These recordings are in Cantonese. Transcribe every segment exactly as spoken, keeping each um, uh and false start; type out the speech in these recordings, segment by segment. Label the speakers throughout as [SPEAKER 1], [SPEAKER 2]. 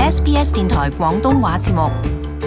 [SPEAKER 1] S B S 電台廣東話節目。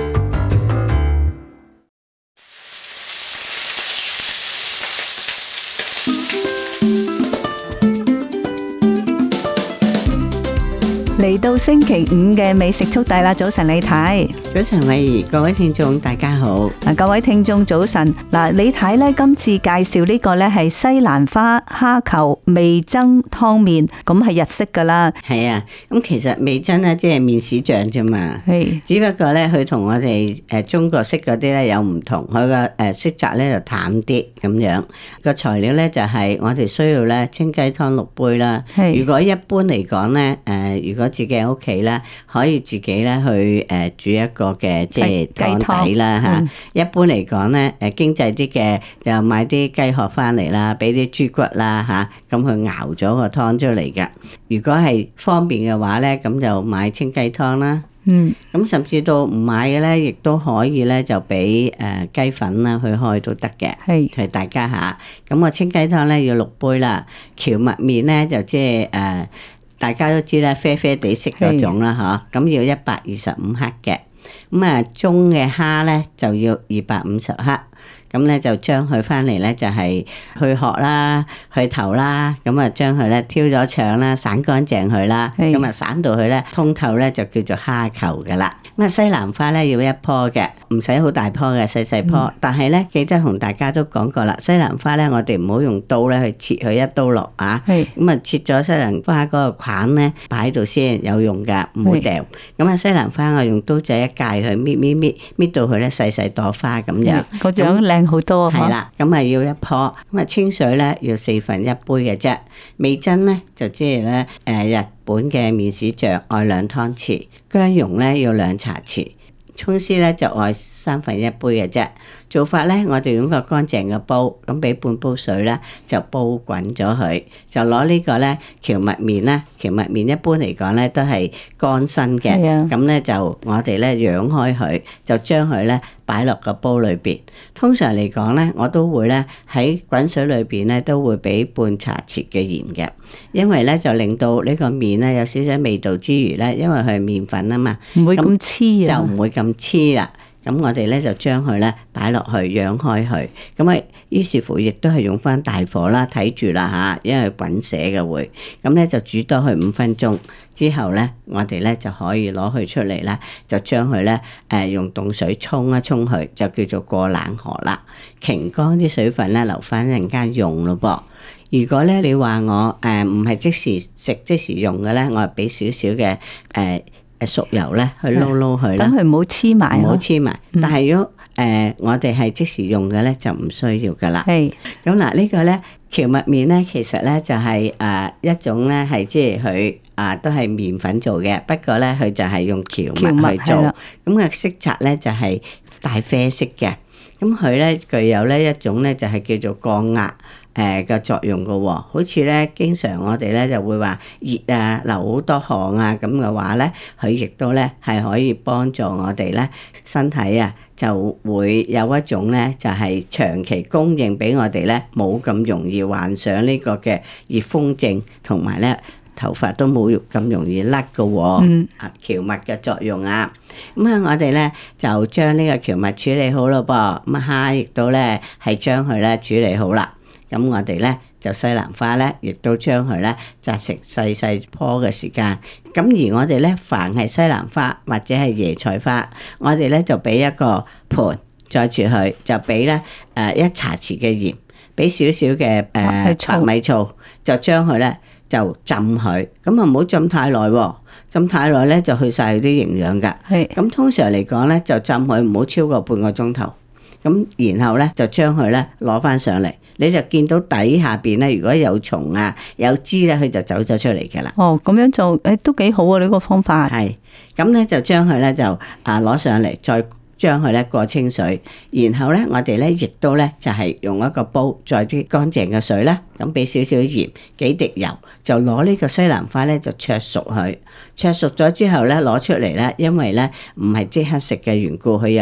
[SPEAKER 2] 嚟到星期五嘅美食速遞啦！早晨李太，
[SPEAKER 3] 早晨偉兒，各位聽眾大家好。
[SPEAKER 2] 嗱，各位聽眾早晨。嗱，李太咧今次介紹呢個咧係西蘭花蝦球味噌湯麵，咁係日式噶啦。
[SPEAKER 3] 係啊，咁其實味噌咧即係麵豉醬啫嘛。係，只不過咧佢同我哋誒中國式嗰啲咧有唔同，佢個誒色澤咧就淡啲咁樣。個材料咧就係我哋需要咧清雞湯六杯啦。係，如果一般嚟講咧，誒如果自己喺屋企咧，可以自己咧去誒煮一個嘅即係湯底啦嚇。一般嚟講咧，誒經濟啲嘅又買啲雞殼翻嚟啦，俾啲豬骨啦嚇，咁去熬咗個湯出嚟㗎。如果係方便嘅話咧，咁就買清雞湯啦。嗯，咁甚至到唔買嘅咧，亦都可以咧就俾誒雞粉啦去開都得嘅。係，係大家嚇。咁個清雞湯咧要六杯啦，蕎麥麵咧就即係誒。大家都知啦，啡啡地色嗰種啦，嗬，咁要一百二十五克嘅。咁啊，中嘅蝦咧就要二百五十克。咁咧就將佢翻嚟咧就係去殼啦、去頭啦，咁啊將佢咧挑咗腸啦、散乾淨佢啦，咁啊散到佢咧通透咧就叫做蝦球噶啦。咁啊西蘭花咧要一棵嘅，唔使好大棵嘅，細細棵。嗯、但係咧記得同大家都講過啦，西蘭花咧我哋唔好用刀咧去切佢一刀落啊。咁啊切咗西蘭花嗰個梗咧擺喺度先有用噶，唔好掉。咁啊西蘭花我用刀仔一界佢搣搣搣搣到佢咧細細朵花咁樣。個樣靚好多啊！係啦，咁啊要一棵，咁啊清水咧要四分一杯嘅啫。味噌咧就即係咧誒日本嘅麵豉醬愛兩湯匙，薑蓉咧要兩茶匙，蔥絲咧就愛三分一杯嘅啫。做法咧，我哋用個乾淨嘅煲，咁俾半煲水咧就煲滾咗佢，就攞呢個咧蕎麥麵啦。蕎麥麵一般嚟講咧都係乾身嘅，咁咧就我哋咧揚開佢，就將佢咧擺落個煲裏邊。通常嚟講咧，我都會咧喺滾水裏邊咧都會俾半茶匙嘅鹽嘅，因為咧就令到呢個麵咧有少少味道之餘咧，因為佢係麵粉啊嘛，
[SPEAKER 2] 唔會咁黐啊，
[SPEAKER 3] 就唔會咁黐啦。咁我哋咧就將佢咧擺落去揚開佢，咁啊於是乎亦都係用翻大火啦，睇住啦嚇，因為滾瀉嘅會，咁咧就煮多佢五分鐘之後咧，我哋咧就可以攞佢出嚟啦，就將佢咧誒用凍水沖一沖佢，就叫做過冷河啦，擎乾啲水分咧，留翻一陣間用咯噃。如果咧你話我誒唔係即時食即時用嘅咧，我係俾少少嘅誒。呃熟油咧去撈撈佢啦，
[SPEAKER 2] 等佢唔好黐埋，
[SPEAKER 3] 唔好黐埋。但係如果誒、呃、我哋係即時用嘅咧，就唔需要噶啦。係咁嗱，呢個咧蕎麥麵咧，其實咧就係、是、誒、呃、一種咧係即係佢啊都係麵粉做嘅，不過咧佢就係用蕎麥去做，咁嘅色澤咧就係帶啡色嘅。咁佢咧具有咧一種咧就係叫做降壓誒嘅作用嘅喎，好似咧經常我哋咧就會話熱啊流好多汗啊咁嘅話咧，佢亦都咧係可以幫助我哋咧身體啊就會有一種咧就係長期供應俾我哋咧冇咁容易患上呢個嘅熱風症，同埋咧頭髮都冇咁容易甩嘅喎。嗯，啊蕎麥嘅作用啊，咁啊我哋咧就將呢個蕎麥處理好咯噃，咁蝦亦都咧係將佢咧處理好啦。咁我哋咧就西蘭花咧，亦都將佢咧摘成細細棵嘅時間。咁而我哋咧，凡係西蘭花或者係椰菜花，我哋咧就俾一個盤載住佢，就俾咧誒一茶匙嘅鹽，俾少少嘅誒白米醋，就將佢咧就浸佢。咁啊唔好浸太耐喎，浸太耐咧就去晒佢啲營養㗎。係。咁通常嚟講咧，就浸佢唔好超過半個鐘頭。咁然後咧就將佢咧攞翻上嚟。你就見到底下邊咧，如果有蟲啊、有枝咧，佢就走咗出嚟㗎啦。
[SPEAKER 2] 哦，咁樣做誒都幾好啊！呢個方法
[SPEAKER 3] 係咁咧，就將佢咧就啊攞上嚟，再將佢咧過清水，然後咧我哋咧亦都咧就係用一個煲，再啲乾淨嘅水啦，咁俾少少鹽、幾滴油，就攞呢個西蘭花咧就灼熟佢。灼熟咗之後咧攞出嚟咧，因為咧唔係即刻食嘅緣故，佢有熱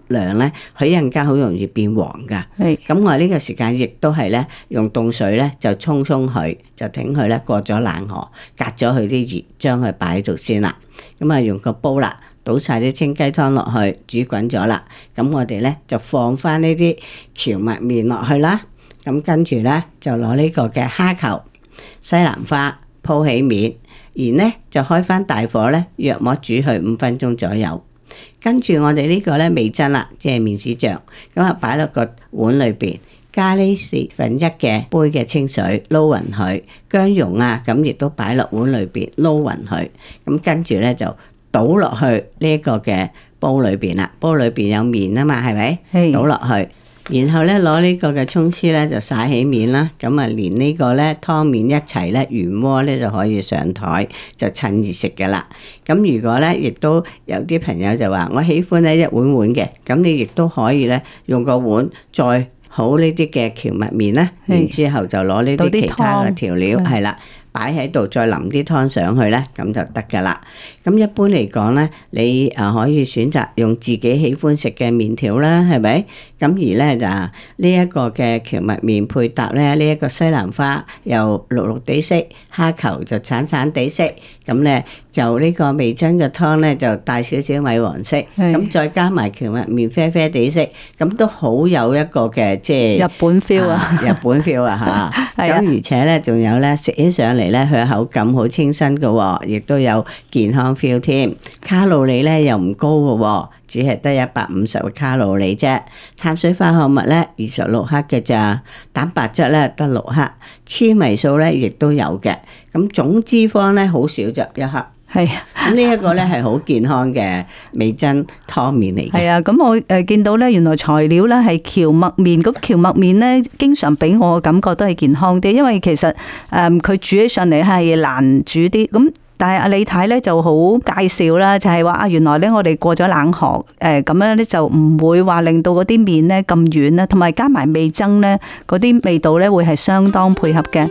[SPEAKER 3] 量咧，佢一陣間好容易變黃噶。係咁，我呢個時間亦都係咧，用凍水咧就沖沖佢，就等佢咧過咗冷河，隔咗佢啲熱，將佢擺喺度先啦。咁啊，用個煲啦，倒晒啲清雞湯落去，煮滾咗啦。咁我哋咧就放翻呢啲蕎麥麵落去啦。咁跟住咧就攞呢個嘅蝦球、西蘭花鋪起面，然咧就開翻大火咧，約莫煮佢五分鐘左右。跟住我哋呢個咧味噌啦，即係麵豉醬，咁啊擺落個碗裏邊，加呢四分一嘅杯嘅清水撈勻佢，薑蓉啊咁亦都擺落碗裏邊撈勻佢，咁跟住咧就倒落去呢一個嘅煲裏邊啦，煲裏邊有麵啊嘛，係咪？係。倒落去。然後咧攞呢個嘅蔥絲咧就撒起面啦，咁啊連呢個咧湯麵一齊咧原鍋咧就可以上台，就趁熱食噶啦。咁如果咧亦都有啲朋友就話我喜歡咧一碗碗嘅，咁你亦都可以咧用個碗再好呢啲嘅蕎麥麵啦，然之後就攞呢啲其他嘅調料係啦。擺喺度，再淋啲湯上去咧，咁就得噶啦。咁一般嚟講咧，你啊可以選擇用自己喜歡食嘅麵條啦，係咪？咁而咧就呢一個嘅蕎麥麵配搭咧，呢一個西蘭花又綠綠地色，蝦球就橙橙地色，咁咧就呢個味噌嘅湯咧就帶少少米黃色，咁再加埋蕎麥麵啡啡地色，咁都好有一個嘅即係
[SPEAKER 2] 日本 feel 啊，
[SPEAKER 3] 日本 feel 啊嚇。咁而且咧仲有咧食起上嚟。咧佢口感好清新嘅，亦都有健康 feel 添。卡路里咧又唔高嘅，只係得一百五十個卡路里啫。碳水化合物咧二十六克嘅咋，蛋白質咧得六克，纖維素咧亦都有嘅。咁總脂肪咧好少就一克。係啊，咁呢一個咧係好健康嘅味噌湯麵嚟嘅。係啊，咁我誒見到咧，原來材料咧係蕎麥麵，咁蕎麥麵咧經常俾我嘅感覺都係健康啲，因為其實誒佢煮起上嚟係難煮啲。咁但係阿李太咧就好介紹啦，就係話啊，原來咧我哋過咗冷河誒咁樣咧就唔會話令到嗰啲麵咧咁軟啦，同埋加埋味噌咧嗰啲味道咧會係相當配合嘅。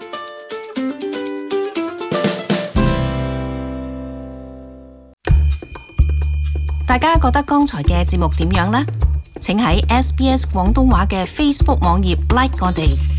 [SPEAKER 1] 大家覺得剛才嘅節目點樣呢？請喺 S B S 廣東話嘅 Facebook 網頁 like 我哋。